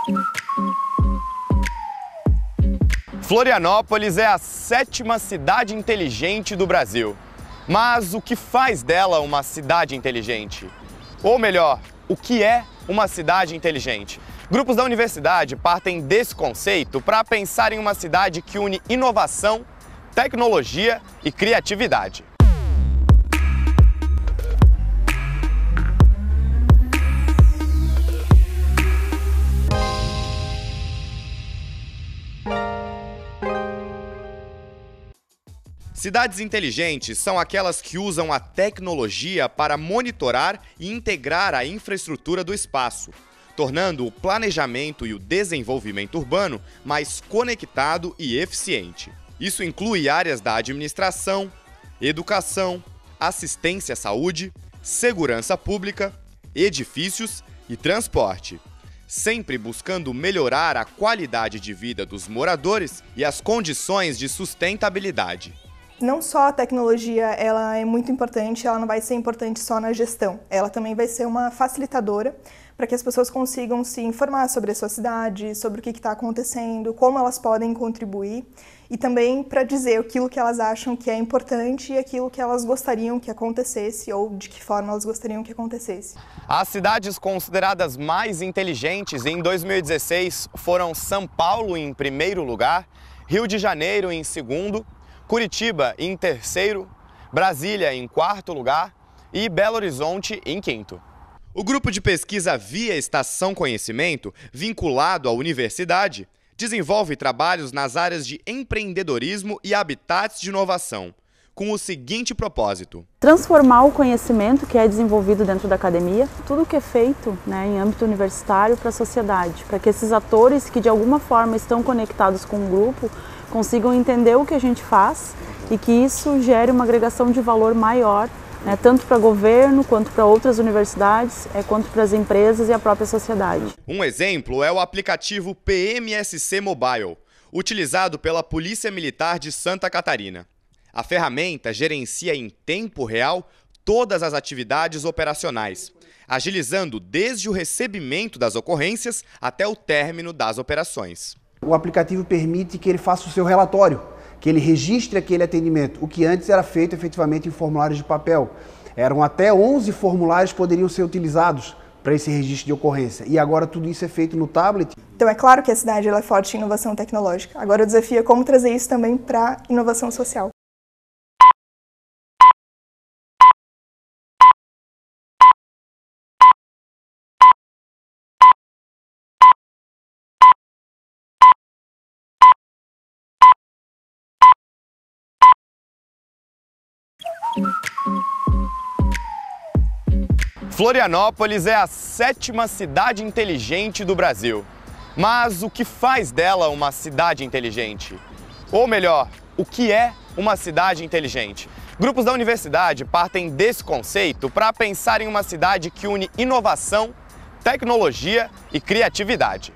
Florianópolis é a 7ª cidade inteligente do Brasil. Mas o que faz dela uma cidade inteligente? Ou melhor, o que é uma cidade inteligente? Grupos da universidade partem desse conceito para pensar em uma cidade que une inovação, tecnologia e criatividade. Cidades inteligentes são aquelas que usam a tecnologia para monitorar e integrar a infraestrutura do espaço, tornando o planejamento e o desenvolvimento urbano mais conectado e eficiente. Isso inclui áreas da administração, educação, assistência à saúde, segurança pública, edifícios e transporte, sempre buscando melhorar a qualidade de vida dos moradores e as condições de sustentabilidade. Não só a tecnologia ela é muito importante, ela não vai ser importante só na gestão. Ela também vai ser uma facilitadora para que as pessoas consigam se informar sobre a sua cidade, sobre o que está acontecendo, como elas podem contribuir e também para dizer aquilo que elas acham que é importante e aquilo que elas gostariam que acontecesse ou de que forma elas gostariam que acontecesse. As cidades consideradas mais inteligentes em 2016 foram São Paulo em primeiro lugar, Rio de Janeiro em segundo, Curitiba em terceiro, Brasília em quarto lugar e Belo Horizonte em quinto. O grupo de pesquisa Via Estação Conhecimento, vinculado à universidade, desenvolve trabalhos nas áreas de empreendedorismo e habitats de inovação, com o seguinte propósito: transformar o conhecimento que é desenvolvido dentro da academia, tudo que é feito em âmbito universitário para a sociedade, para que esses atores que de alguma forma estão conectados com o grupo consigam entender o que a gente faz e que isso gere uma agregação de valor maior, tanto para o governo, quanto para outras universidades, quanto para as empresas e a própria sociedade. Um exemplo é o aplicativo PMSC Mobile, utilizado pela Polícia Militar de Santa Catarina. A ferramenta gerencia em tempo real todas as atividades operacionais, agilizando desde o recebimento das ocorrências até o término das operações. O aplicativo permite que ele faça o seu relatório, que ele registre aquele atendimento, o que antes era feito efetivamente em formulários de papel. Eram até 11 formulários que poderiam ser utilizados para esse registro de ocorrência. E agora tudo isso é feito no tablet. Então é claro que a cidade ela é forte em inovação tecnológica. Agora o desafio é como trazer isso também para a inovação social. Florianópolis é a 7ª cidade inteligente do Brasil. Mas o que faz dela uma cidade inteligente? Ou melhor, o que é uma cidade inteligente? Grupos da universidade partem desse conceito para pensar em uma cidade que une inovação, tecnologia e criatividade.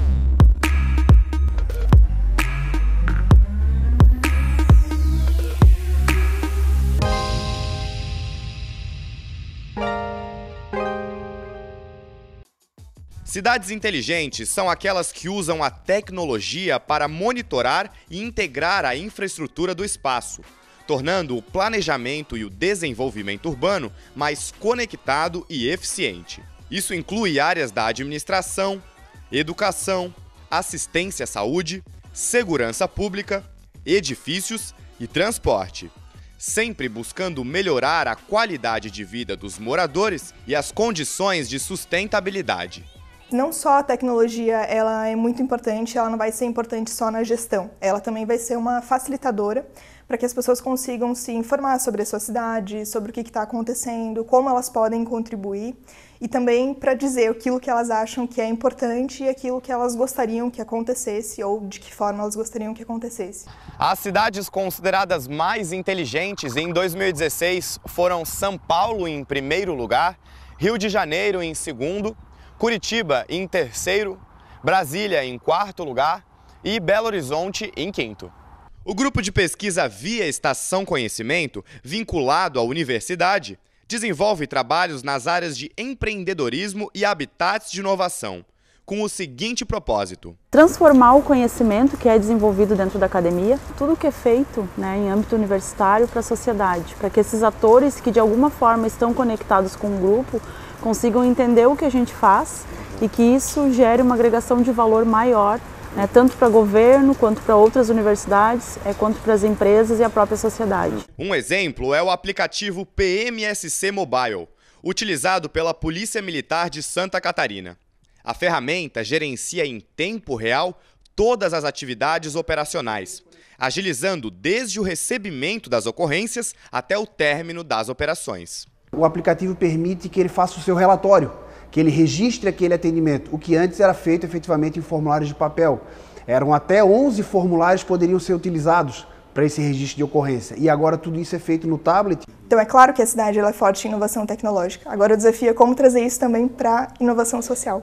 Cidades inteligentes são aquelas que usam a tecnologia para monitorar e integrar a infraestrutura do espaço, tornando o planejamento e o desenvolvimento urbano mais conectado e eficiente. Isso inclui áreas da administração, educação, assistência à saúde, segurança pública, edifícios e transporte, sempre buscando melhorar a qualidade de vida dos moradores e as condições de sustentabilidade. Não só a tecnologia ela é muito importante, ela não vai ser importante só na gestão. Ela também vai ser uma facilitadora para que as pessoas consigam se informar sobre a sua cidade, sobre o que está acontecendo, como elas podem contribuir e também para dizer aquilo que elas acham que é importante e aquilo que elas gostariam que acontecesse ou de que forma elas gostariam que acontecesse. As cidades consideradas mais inteligentes em 2016 foram São Paulo em primeiro lugar, Rio de Janeiro em segundo, Curitiba em terceiro, Brasília em quarto lugar e Belo Horizonte em quinto. O grupo de pesquisa Via Estação Conhecimento, vinculado à universidade, desenvolve trabalhos nas áreas de empreendedorismo e habitats de inovação, com o seguinte propósito: transformar o conhecimento que é desenvolvido dentro da academia, tudo que é feito, né, em âmbito universitário para a sociedade, para que esses atores que de alguma forma estão conectados com o grupo consigam entender o que a gente faz e que isso gere uma agregação de valor maior, né, tanto para o governo, quanto para outras universidades, quanto para as empresas e a própria sociedade. Um exemplo é o aplicativo PMSC Mobile, utilizado pela Polícia Militar de Santa Catarina. A ferramenta gerencia em tempo real todas as atividades operacionais, agilizando desde o recebimento das ocorrências até o término das operações. O aplicativo permite que ele faça o seu relatório, que ele registre aquele atendimento, o que antes era feito efetivamente em formulários de papel. Eram até 11 formulários que poderiam ser utilizados para esse registro de ocorrência. E agora tudo isso é feito no tablet. Então é claro que a cidade ela é forte em inovação tecnológica. Agora o desafio é como trazer isso também para a inovação social.